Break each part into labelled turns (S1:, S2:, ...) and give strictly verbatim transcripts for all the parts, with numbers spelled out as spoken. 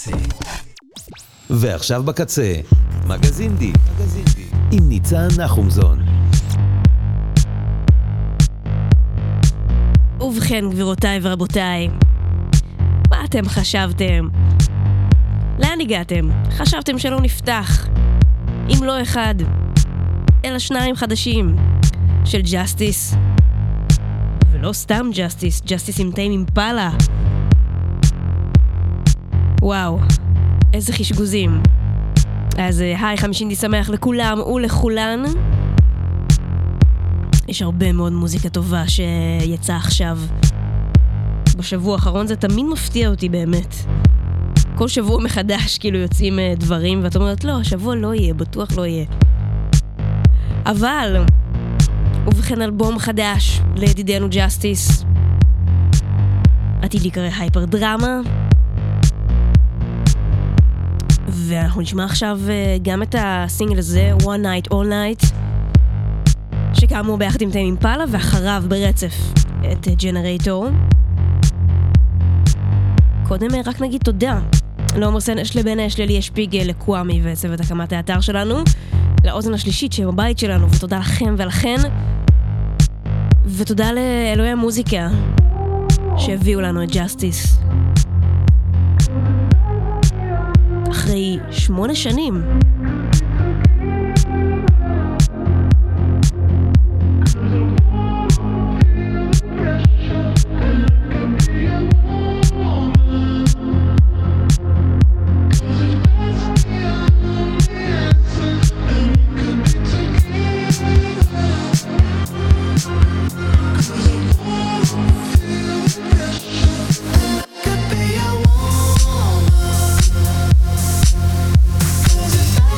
S1: ועכשיו בקצה, מגזין די, עם ניצן נחומזון.
S2: ובכן גבירותיי ורבותיי, מה אתם חשבתם? לאן הגעתם? חשבתם שלא נפתח אם לא אחד, אלא שניים חדשים של ג'סטיס, ולא סתם ג'סטיס, ג'סטיס עם טיים אימפלה. וואו, איזה חשגוזים. אז היי, חמישינדי שמח לכולם ולכולן. יש הרבה מאוד מוזיקה טובה שיצא עכשיו. בשבוע האחרון זה תמיד מפתיע אותי באמת. כל שבוע מחדש כאילו יוצאים דברים ואת אומרת לא, השבוע לא יהיה, בטוח לא יהיה. אבל ובכן אלבום חדש לידידנו ג'סטיס עתיד להיקרא הייפר דרמה, ואנחנו נשמע עכשיו גם את הסינגל הזה One Night All Night, שכאמור ביחד עם טיים אימפלה, ואחריו ברצף את ג'נרייטור. קודם רק נגיד תודה לעומר סנש, לבן אש, לליה שפיגל, לקוואמי וצוות הקמת האתר שלנו, לאוזן השלישית שבבית שלנו, ותודה לכם ולכן, ותודה לאלוהי המוזיקה שהביאו לנו את ג'סטיס אחרי שמונה שנים.
S3: Could be a woman, 'cause if I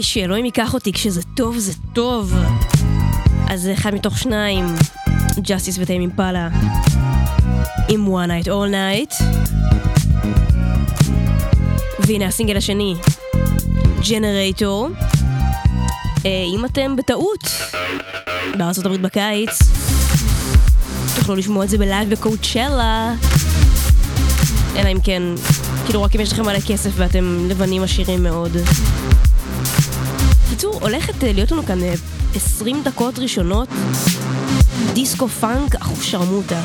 S2: שאלוהים ייקח אותי, כשזה טוב זה טוב. אז זה אחד מתוך שניים, ג'אסטיס וטיים אימפלה עם One Night All Night. והנה הסינגל השני, ג'נרייטור. אם אתם בטעות בארצות הברית בקיץ, תוכלו לשמוע את זה בלייב בקואוצ'לה, אלא אם כן, כאילו רק אם יש לכם מלא כסף ואתם לבנים עשירים מאוד. קיצור, הולכת להיות לנו כאן עשרים דקות ראשונות דיסקו פאנק אחו שרמוטה.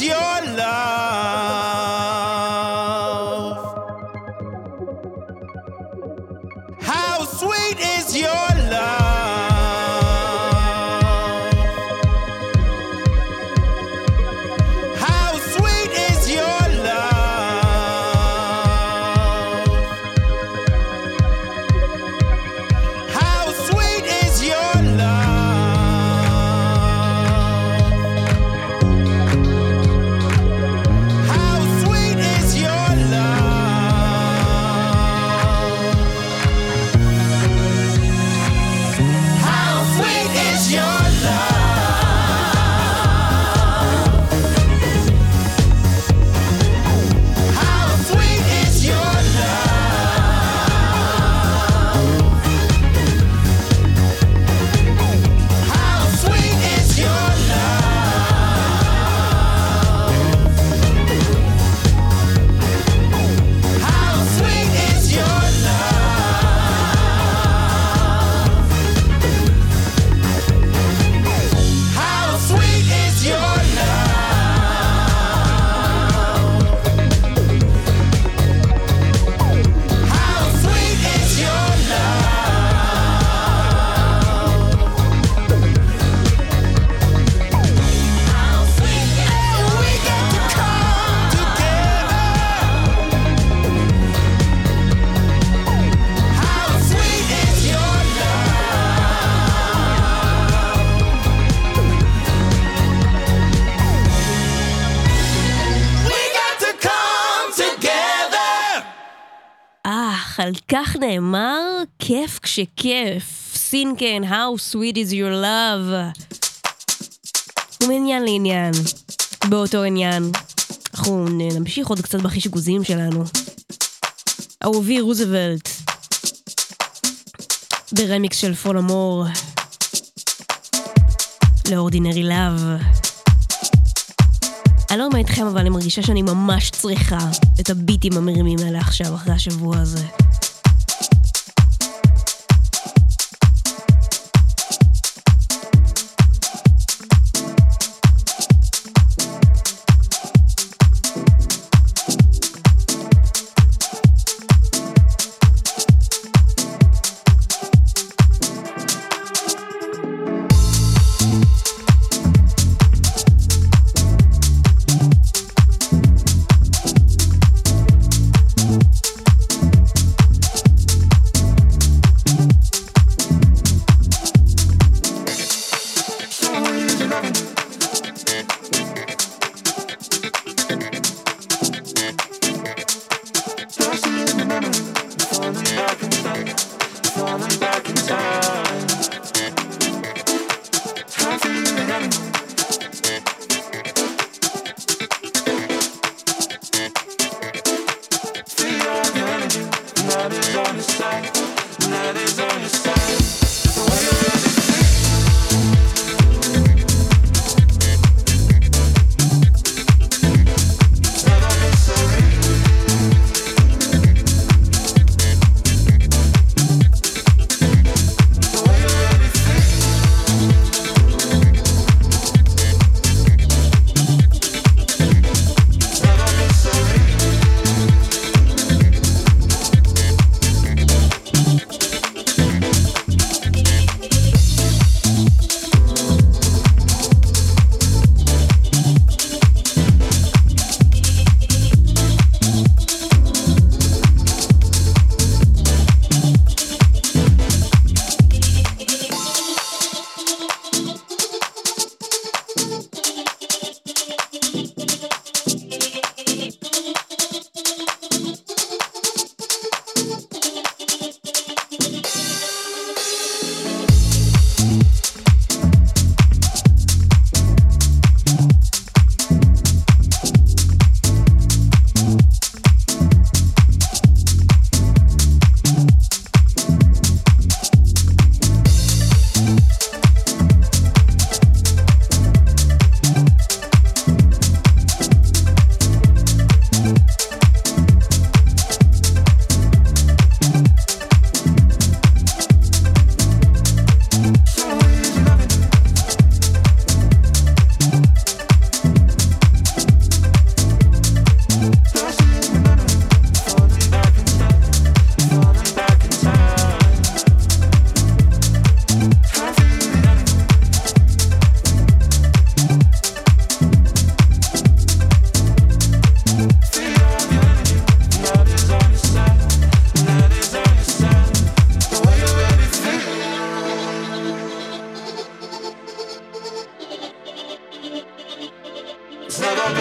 S3: your love? How sweet is your love? How sweet is your love? How sweet is your love? How sweet is your love? How sweet is your love? How sweet is your love? How sweet is your love? How sweet is your love? How sweet is your love? How sweet is your love? How sweet is we got to come together. How sweet is your love? We got to come together.
S2: אך, על כך נאמר, כיף כשכיף. סינקן, how sweet is your love. ומעניין לעניין. באותו עניין. אנחנו נמשיך עוד קצת בחישגוזים שלנו. אהובי רוזוולט. ברמיקס של פול אמור. לאורדינרי לאב. אני לא אומר איתכם, אבל אני מרגישה שאני ממש צריכה את הביטים המרימים האלה עכשיו, אחרי השבוע הזה.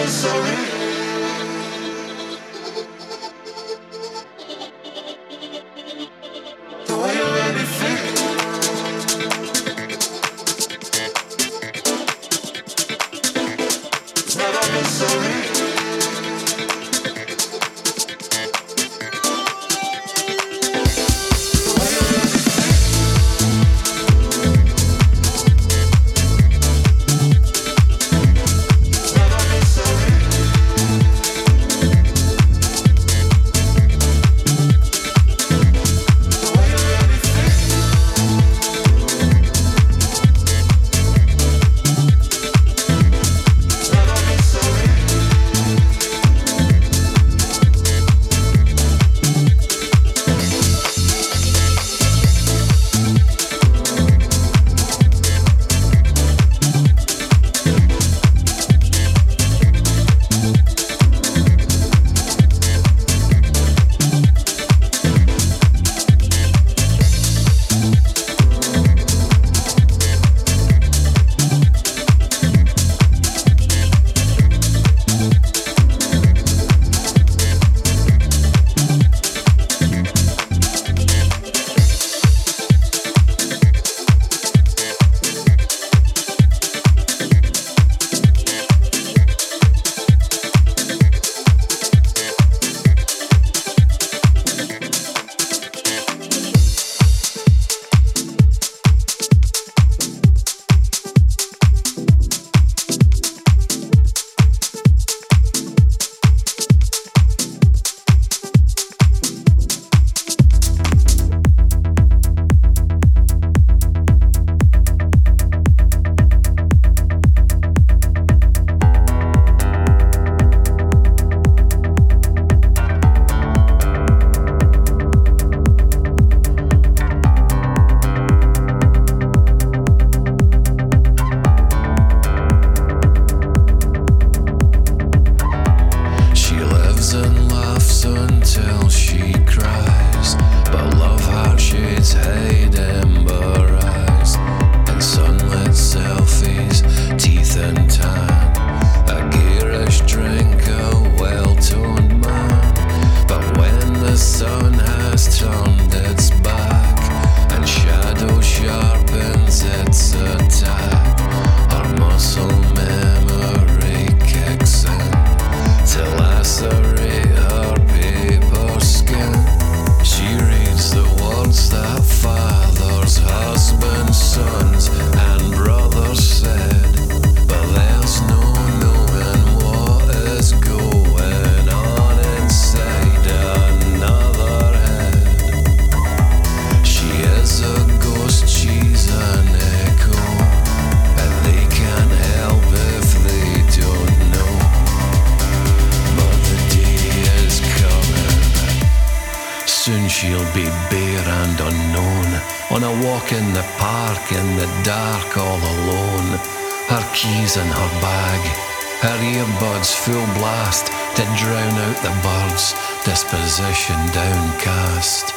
S4: On a walk in the park in the dark all alone. Her keys in her bag, her earbuds full blast to drown out the birds, disposition downcast.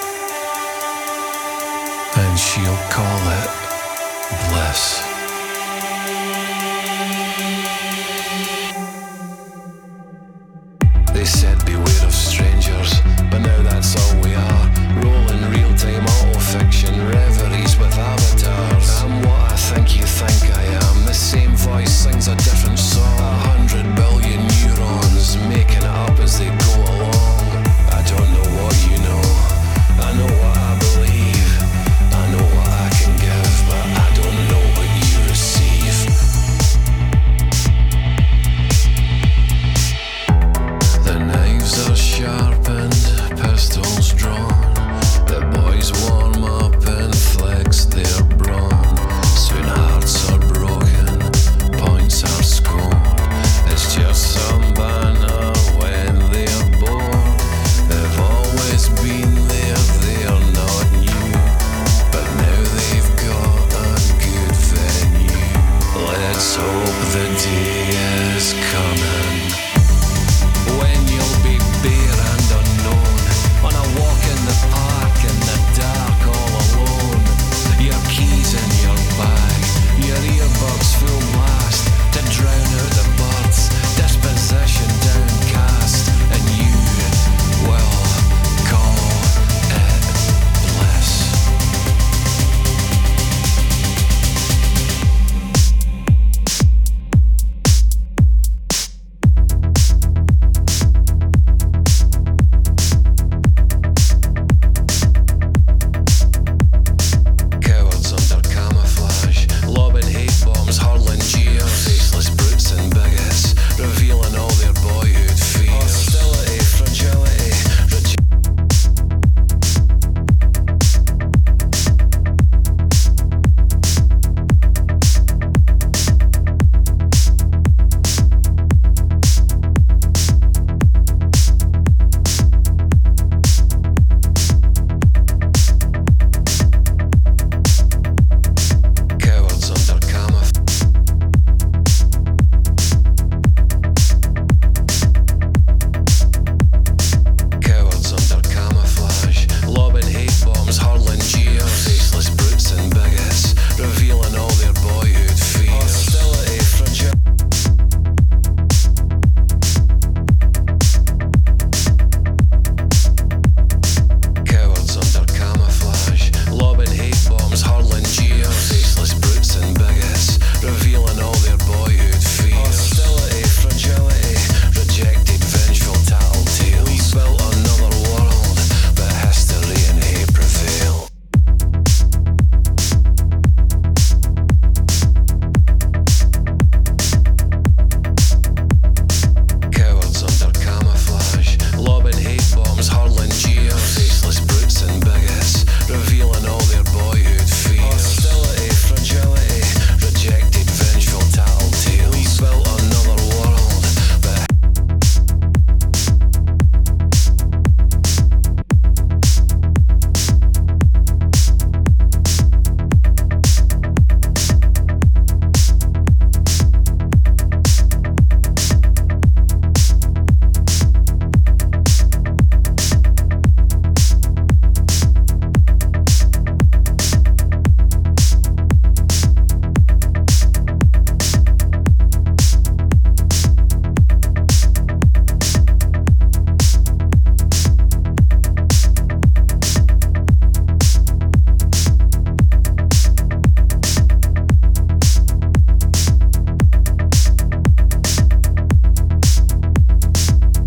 S4: And she'll call it bliss. They said beware of strangers, but now that's all we are. Rolling real-time auto-fiction reveries with avatars. I'm what I think you think I am. The same voice sings a different song. A hundred billion neurons making it up as they go along. I don't know what you know, I know what I believe, I know what I can give, but I don't know what you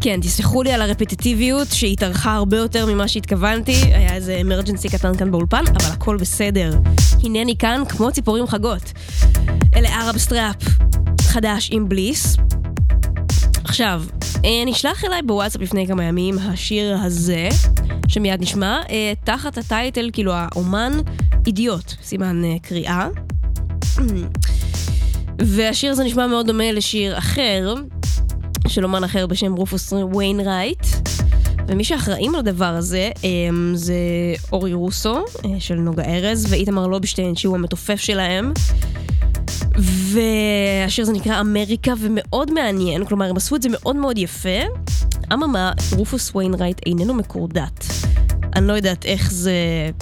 S2: כן, תסלחו לי על הרפטיטיביות שהתארכה הרבה יותר ממה שהתכוונתי, היה איזה אמרג'נסי קטן כאן באולפן, אבל הכל בסדר. הנני כאן כמו ציפורים חגות. אלה ערב סטראפ חדש עם בליס. עכשיו, נשלח אליי בוואטסאפ לפני כמה ימים השיר הזה, שמיד נשמע, תחת הטייטל, כאילו האומן אידיוט, סימן קריאה. והשיר הזה נשמע מאוד דומה לשיר אחר, של אומן אחר בשם רופוס ויינרייט, ומי שאחראים על הדבר הזה זה אורי רוסו של נוגה ארז ואיתמר לובשטיין שהוא המתופף שלהם, והשיר הזה נקרא אמריקה ומאוד מעניין, כלומר הם עשו את זה מאוד מאוד יפה. אממה, רופוס ויינרייט איננו מקורדט, אני לא יודעת איך זה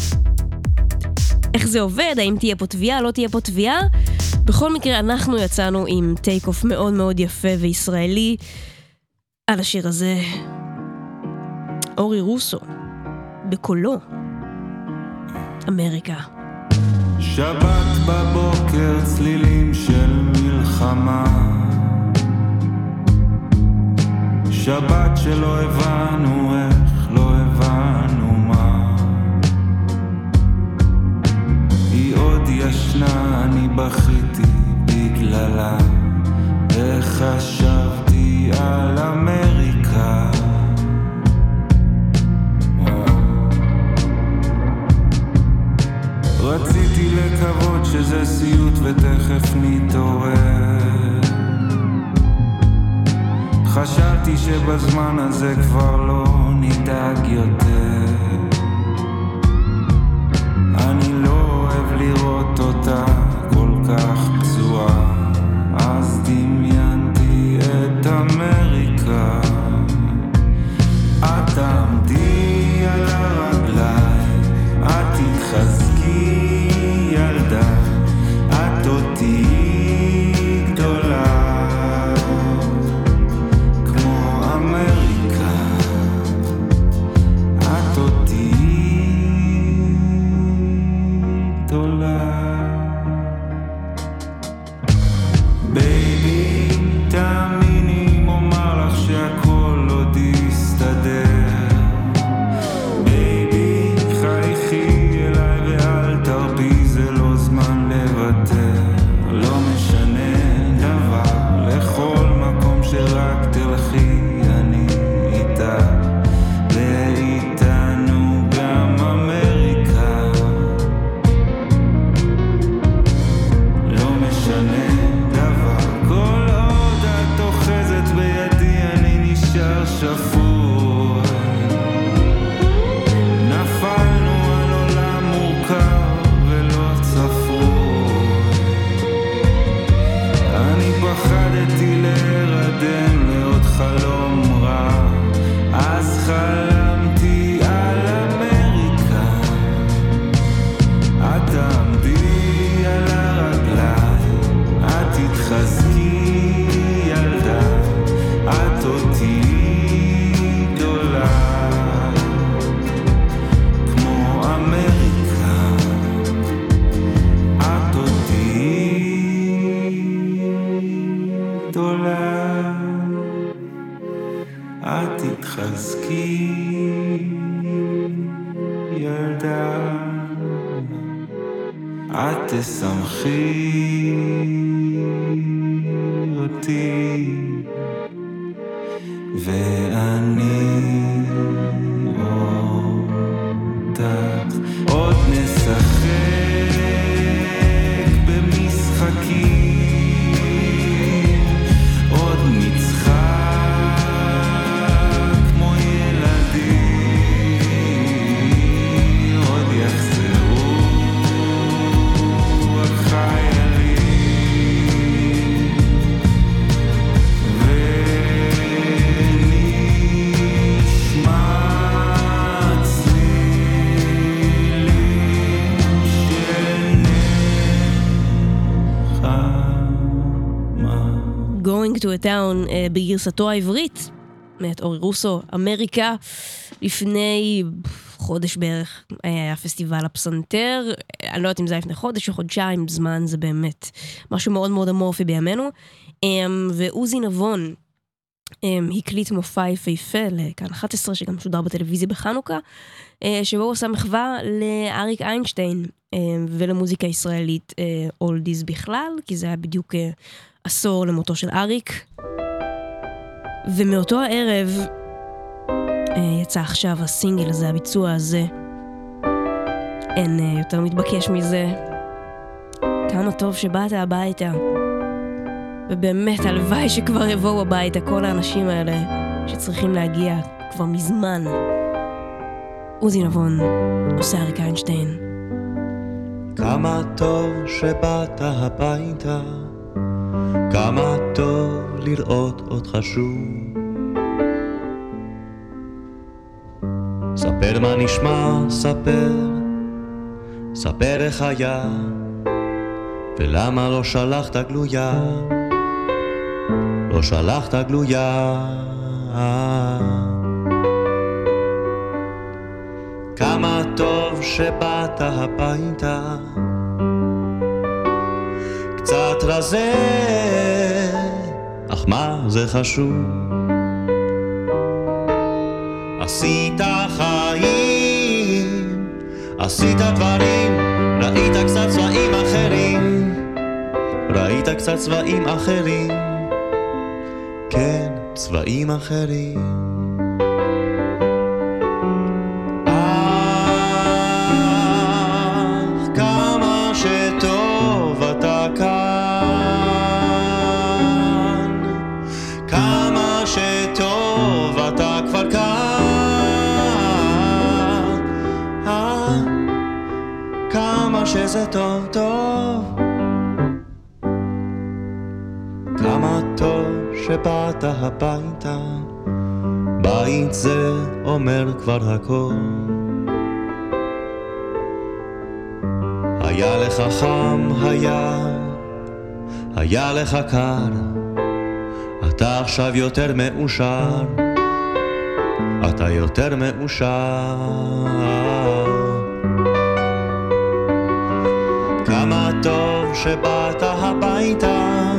S2: איך זה עובד, האם תהיה פה תביעה, לא תהיה פה תביעה. בכל מקרה, אנחנו יצאנו עם טייק אוף מאוד מאוד יפה וישראלי על השיר הזה. אורי רוסו, בקולו, אמריקה.
S5: שבת בבוקר, צלילים של מלחמה, שבת שלא הבנו איך, לא הבנו מה, היא עוד ישנה, אני בכיתי בגללה, איך חשבתי על אמריקה. רציתי לקוות שזה סיוט ותכף נתעורר, חשבתי שבזמן הזה כבר לא נדאג יותר, אני לא אוהב לראות אותה כל כך פצועה, אז דמיינתי את אמריקה. את תעמדי על הרגליים, את תתחזקי ילדה, את אותי גדולה כמו אמריקה, את אותי גדולה. בייבי, תאמיני אם אומר לך שהכל עוד יסתדר, בייבי, חייכי אליי ואל תרפי, זה לא זמן לוותר, לא משנה דבר, לכל מקום שרק תלכי אני איתה, ואיתנו גם אמריקה, לא משנה דבר, כל עוד את אוחזת בידי אני נשאר שפוי, נפלנו על עולם מורכב ולא צפוי, אני פחדתי להירדם לעוד חלום רע, אז חלמתי על אמריקה, את תעמדי על הרגליים, את תתחזקי ילדה, את אותי גדולה כמו אמריקה, את אותי גדולה, את תתחזקי ילדה, את תשמחי אותי, ואני אותך. עוד נשחק במשחקים, עוד נצחק כמו ילדים, עוד יחזרו החיילים,
S2: Going to a Town uh, בגרסתו העברית מאת אורי רוסו, אמריקה. לפני חודש בערך היה פסטיבל הפסנתר, אני לא יודעת אם זה היה לפני חודש או חודשיים, זמן זה באמת משהו מאוד מאוד אמורפי בימינו. ועוזי נבון הקליט מופע יפהפה לכאן אחת עשרה, שגם שודר בטלוויזיה בחנוכה, שבו הוא עשה מחווה לאריק איינשטיין ולמוזיקה ישראלית אולדיז בכלל, כי זה היה בדיוק עשור למותו של אריק. ומאותו הערב יצא עכשיו הסינגל הזה, הביצוע הזה. אין יותר מתבקש מזה. כמה טוב שבאת הביתה. ובאמת הלוואי שכבר יבואו הביתה כל האנשים האלה שצריכים להגיע כבר מזמן. עוזי נבון עושה אריק איינשטיין.
S6: כמה טוב שבאת הביתה, כמה טוב לראות אותך שוב. ספר מה נשמע, ספר, ספר איך היה, ולמה לא שלחת גלויה, לא שלחת גלויה. כמה טוב שבאת הביתה, קצת רזה, אך מה זה חשוב? עשית חיים, עשית דברים, ראית קצת צבעים אחרים, ראית קצת צבעים אחרים, כן, צבעים אחרים. אך כמה שטוב אתה כאן, כמה שטוב אתה כבר כאן, אה, כמה שזה טוב טוב, כמה טוב שבאת הביתה, בית זה אומר כבר הכל. היה לך חם, היה, היה לך קר, אתה עכשיו יותר מאושר, אתה יותר מאושר. כמה טוב שבאת הביתה,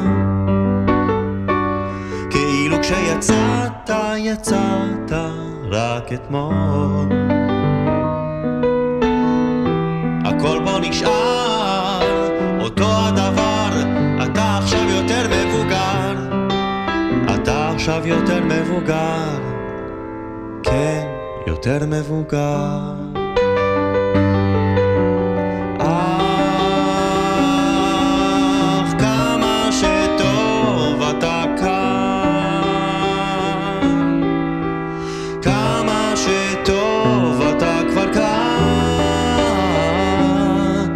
S6: כאילו כשיצאת, יצאת רק אתמול. הכל בו נשאר אותו הדבר, אתה עכשיו יותר מבוגר, אתה עכשיו יותר מבוגר, כן, יותר מבוגר. אך כמה שטוב אתה כאן, כמה שטוב אתה כבר כאן,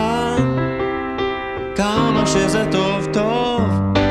S6: כמה שזה טוב טוב.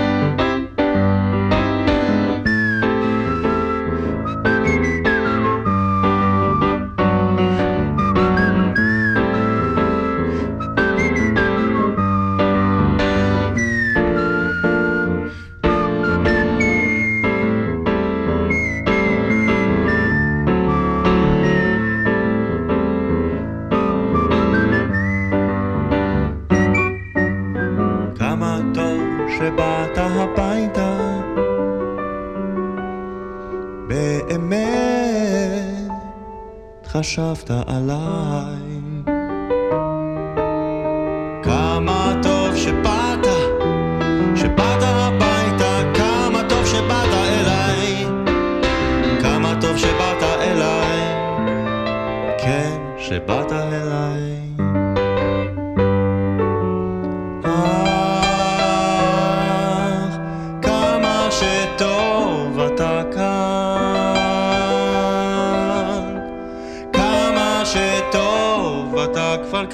S6: שבאת הביתה, באמת חשבת עליי. כמה טוב שבאת, שבאת הביתה, כמה טוב שבאת אליי, כמה טוב שבאת אליי, כן, שבאת אליי. טוב אתה כאן, כמה שטוב אתה כבר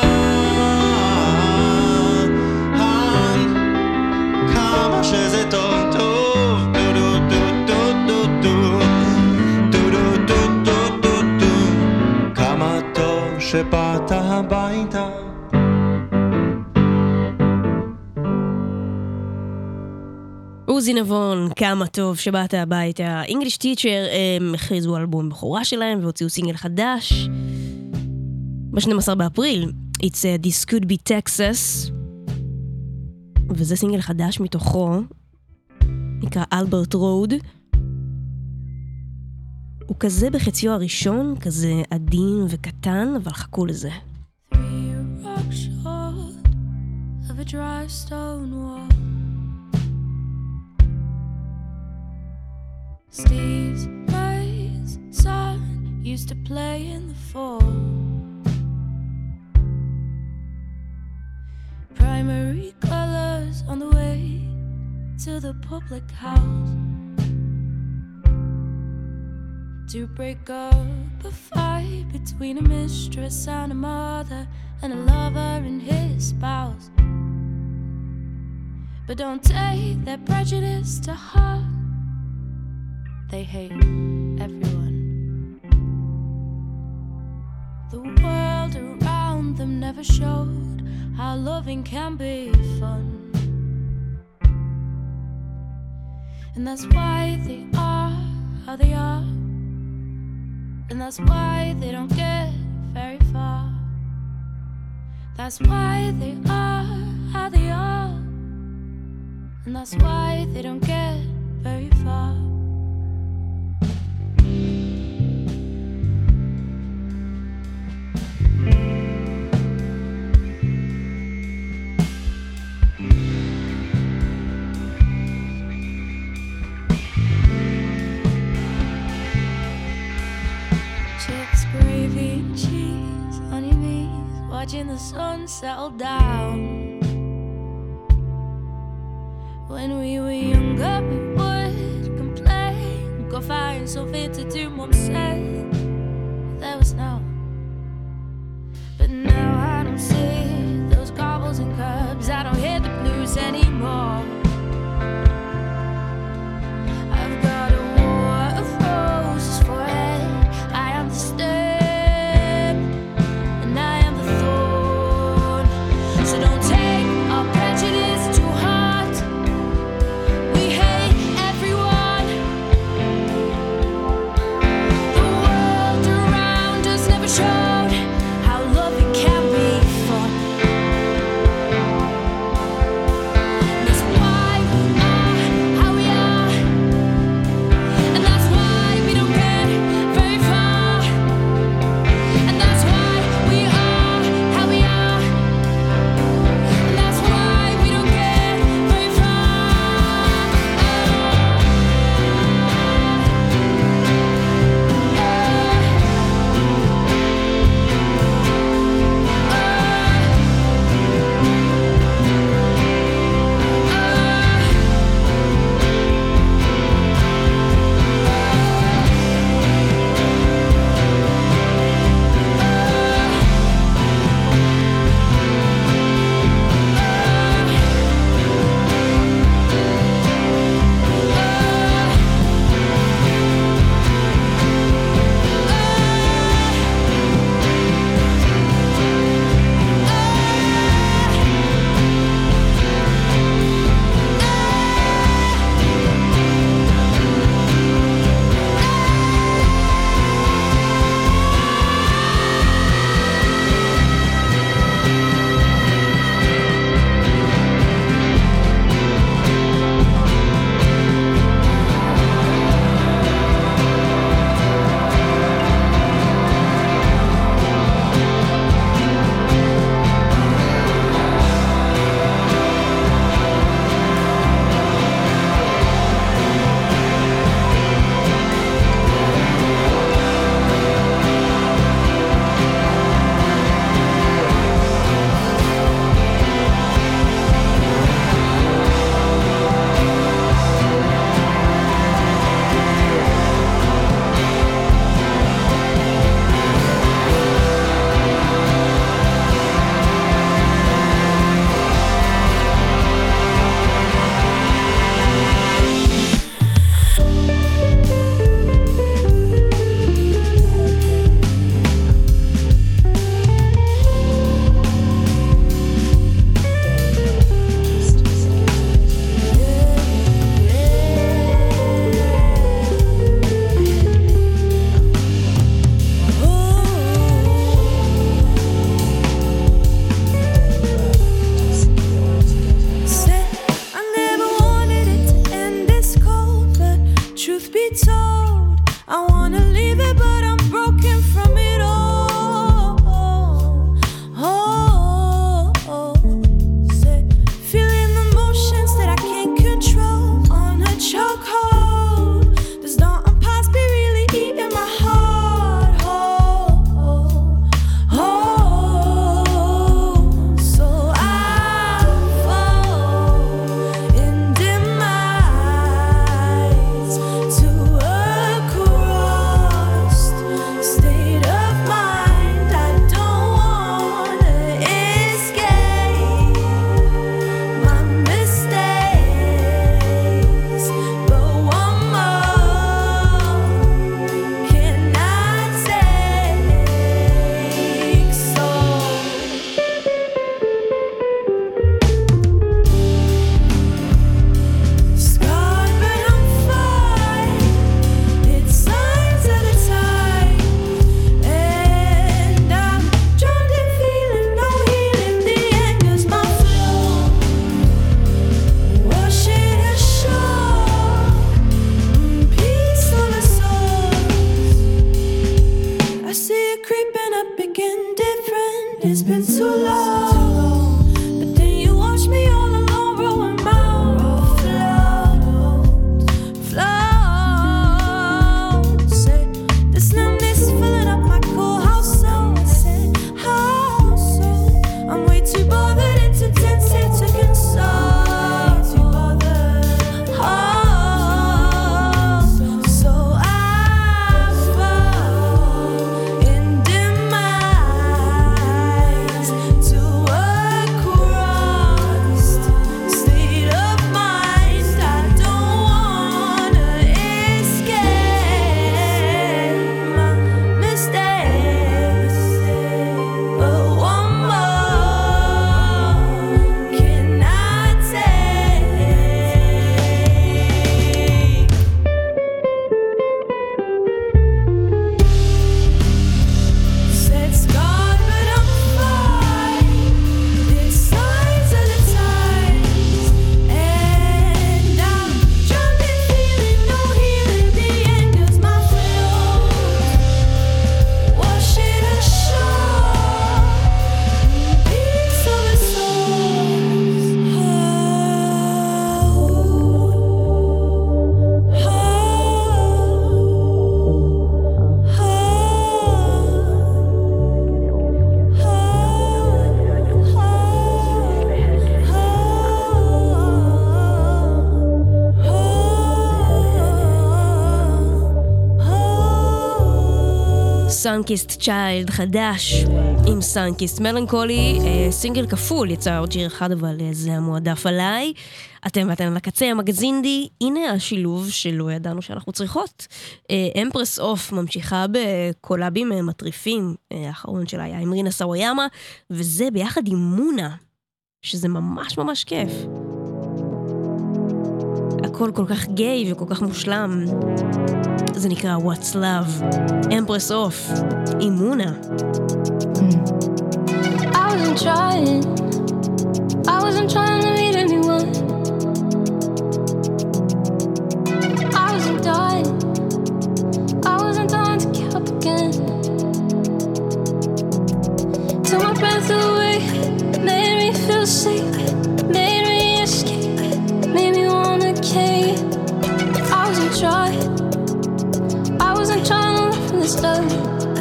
S6: כאן, כמה שזה טוב טוב, כמה טוב שבאת הביתה.
S2: עוזי נבון, כמה טוב שבאת הביתה. English Teacher הם הכריזו אלבום בחורה שלהם והוציאו סינגל חדש ב-שנים עשר באפריל. It's a This Could Be Texas, וזה סינגל חדש מתוכו, נקרא אלברט רוד. הוא כזה בחציו הראשון, כזה עדין וקטן, אבל חכו לזה.
S7: Three rock short of a dry stone wall. Steve's May's son used to play in the fall. Primary colors on the way to the public house to break up a fight between a mistress and a mother and a lover and his spouse. But don't take their prejudice to heart. They hate everyone. The world around them never showed how loving can be fun. And that's why they are how they are. And that's why they don't get very far. That's why they are how they are. And that's why they don't get very far. Watching the sun settle down. When we were younger, we would complain, go find something to do, Mom said. There was no. But now I don't see those gobbles and curbs. I don't hear the blues anymore. I've got a war of roses forehead. I am the stem. The world
S2: סאנקיסט צ'יילד חדש עם סאנקיסט מלנקולי, סינגל כפול, יצא עוד שיר אחד אבל זה המועדף עליי. אתם ואתם בקצה, המגזינדי, הנה השילוב שלא ידענו שאנחנו צריכות. אמפרס אוף ממשיכה בקולאבים מטריפים, האחרון שלה היה עם רינה סאוויאמה, וזה ביחד עם מונה, שזה ממש ממש כיף. הכל כל כך גיי וכל כך מושלם. זה נקרא What's Love, אמפרס אוף עם מונה.
S7: I wasn't trying, I wasn't trying to meet anyone. I wasn't dying, I wasn't dying to get up again. Took my breath away, made me feel safe, made me escape, made me wanna cave. I wasn't trying, I wasn't trying to learn from this love.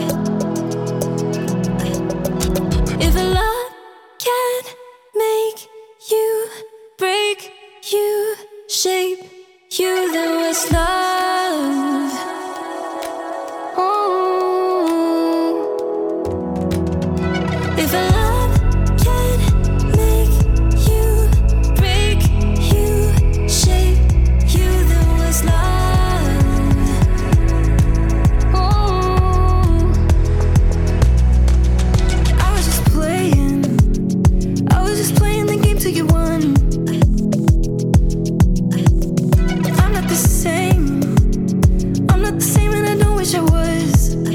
S7: If a love can make you break you, shape you, then what's love? Oh. If a love can make you break you, shape you, then what's love? Oh. I was just playing, I was just playing the game till you won. I'm not the same, I'm not the same and I don't wish I was.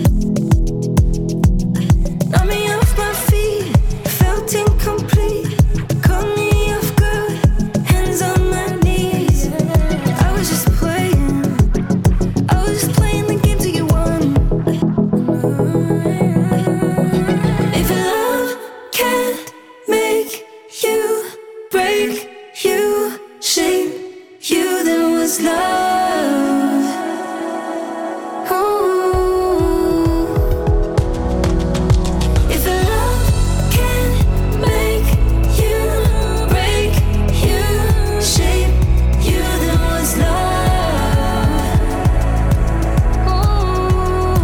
S7: Knocked me off my feet, felt incomplete, caught me off guard, hands on my knees. I was just playing, I was just playing the game till you won. If love can't make you break you, shape you, then what's love? Oh. If love can't make you break you, shape you, then what's love? Oh.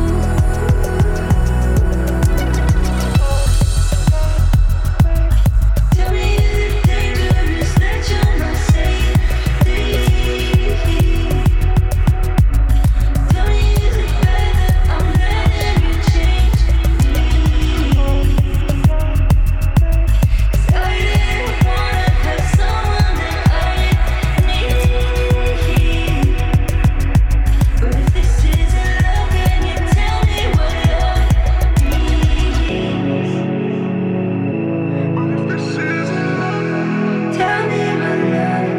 S7: Tell me is it dangerous that you're not safety? Tell me is it bad that I'm letting you change me? 'Cause I didn't wanna have someone that I need. But if this isn't love, can you tell me what love means? Tell me what love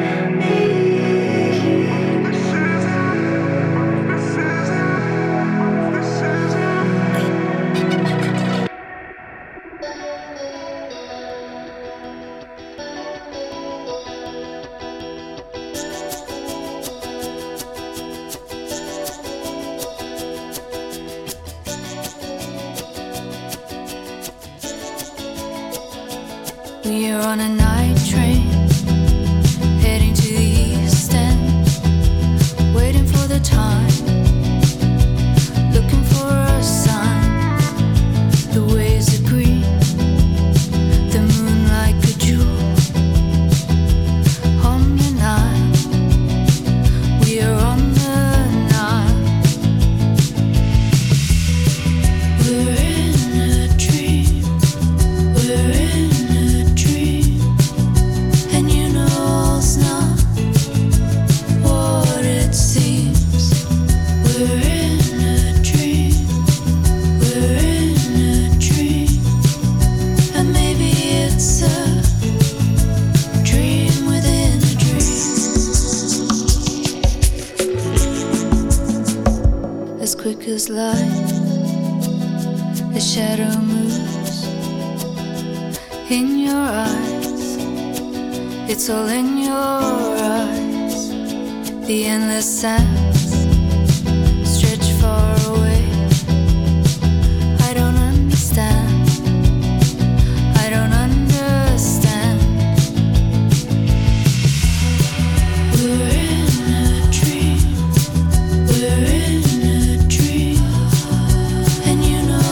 S7: We are on a night train, heading to the east end, waiting for the time, looking for a sign. The waves are green, the moon like a jewel on your Nile. We are on the Nile. We're in a dream, we're in a dream, and you know it's not what it seems. We're in a dream, we're in a dream, and maybe it's a dream within a dream. As quick as light, the shadow moves in your eyes. It's all in your eyes. The endless sands stretch far away. I don't understand, I don't understand. We're in a dream, we're in a dream, and you know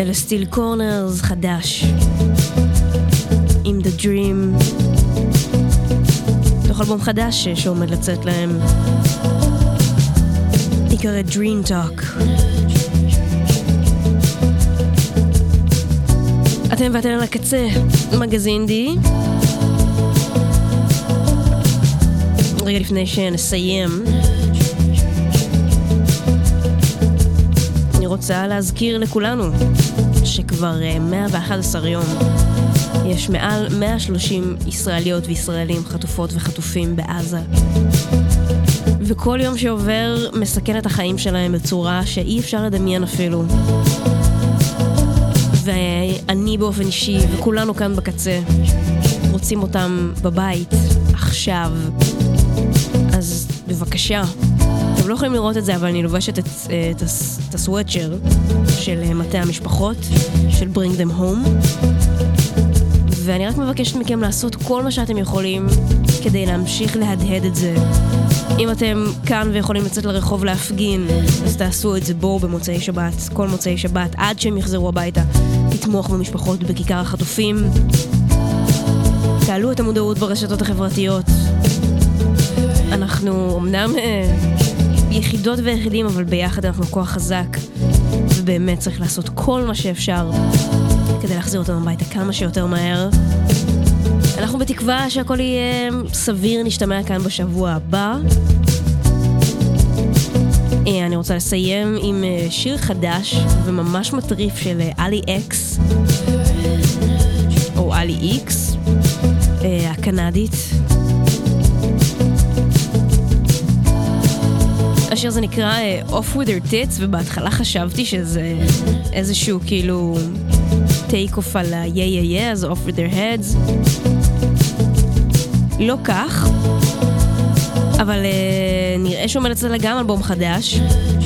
S2: אלה סטיל קורנרס חדש עם The Dream, תוך אלבום חדש שעומד לצאת להם, נקרא Dream Talk. אתם ואתן על הקצה, מגזין די. רגע לפני שנסיים, אני רוצה להזכיר לכולנו שכבר מאה ואחד עשר יום יש מעל מאה ושלושים ישראליות וישראלים חטופות וחטופים בעזה, וכל יום שעובר מסכן את החיים שלהם בצורה שאי אפשר לדמיין אפילו. ואני באופן אישי וכולנו כאן בקצה רוצים אותם בבית עכשיו, אז בבקשה. אתם לא יכולים לראות את זה, אבל אני לובשת את, את, את הסוואצ'ר של מטה המשפחות, של Bring Them Home, ואני רק מבקשת מכם לעשות כל מה שאתם יכולים כדי להמשיך להדהד את זה. אם אתם כאן ויכולים לצאת לרחוב להפגין, אז תעשו את זה. בואו במוצאי שבת, כל מוצאי שבת, עד שהם יחזרו הביתה, תתמוך במשפחות בכיכר החטופים, תעלו את המודעות ברשתות החברתיות. אנחנו אמנם אה, יחידות ויחידים, אבל ביחד אנחנו כוח חזק, ובאמת צריך לעשות כל מה שאפשר כדי להחזיר אותם הביתה כמה שיותר מהר. אנחנו בתקווה שהכל יהיה סביר, נשתמע כאן בשבוע הבא. אני רוצה לסיים עם שיר חדש וממש מטריף של אלי אקס, או אלי איקס, הקנדית. השיר זה נקרא Off With Their Tits, ובהתחלה חשבתי שזה איזשהו כאילו טייק אוף על ה-yeah yeah yeah, אז Off With Their Heads. לא כך, אבל uh, נראה שעומד אצלה גם אלבום חדש,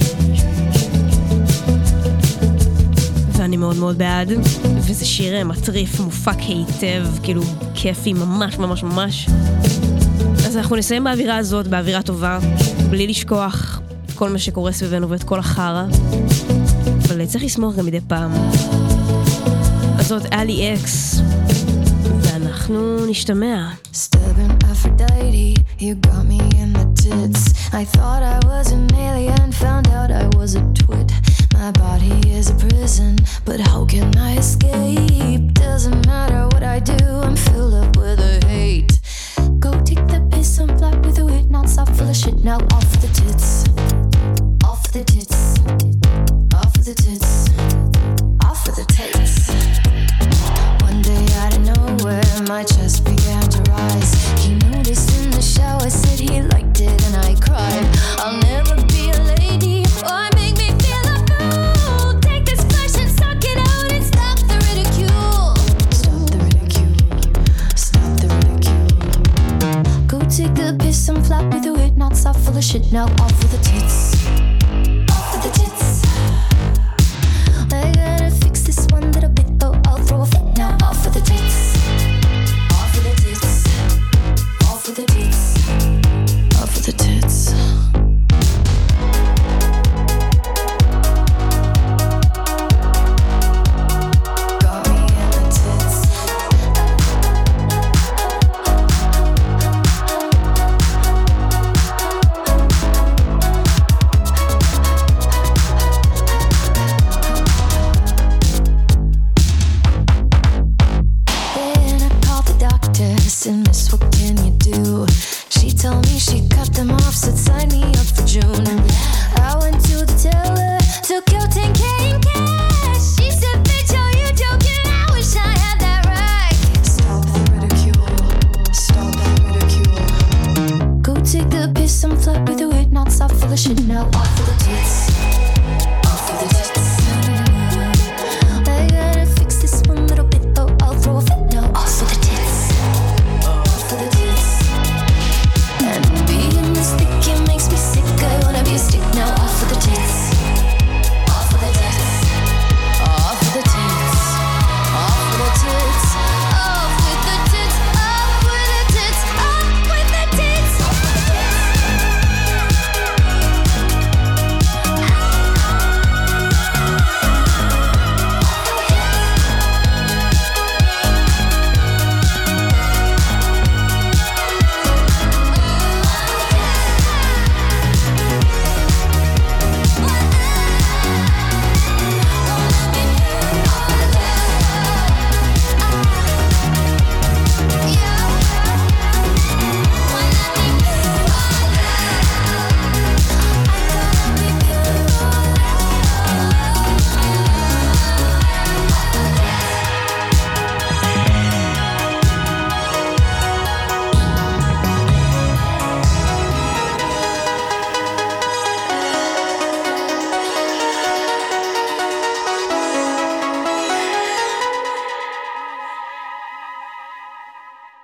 S2: ואני מאוד מאוד בעד, וזה שיר מטריף, מופק היטב, כאילו כיפי ממש ממש ממש. אז אנחנו נסיים באווירה הזאת, באווירה טובה, בלי לשכוח את כל מה שקורה סביבנו ואת כל החרה, אבל צריך לשמוח גם מדי פעם. אז זאת אלי אקס, ואנחנו נשתמע.
S8: Stubborn Aphrodite, you got me in the tits. I thought I was an alien, found out I was a twit. My body is a prison, but how can I escape? Doesn't matter what I do, I'm filled up with a hate. Go take the piss, I'm flat with a wit, not soft full of shit, now off the tits. Off the tits. Off the tits. Off of the tits. One day out of nowhere, my chest began to rise. He noticed in the shower, said he liked it, and I cried. I'll never be a lady, or make me feel a fool. Take this flesh and suck it out and stop the ridicule. Stop the ridicule. Stop the ridicule. Go take the piss, I'm flat with a wit, not soft full of shit, now off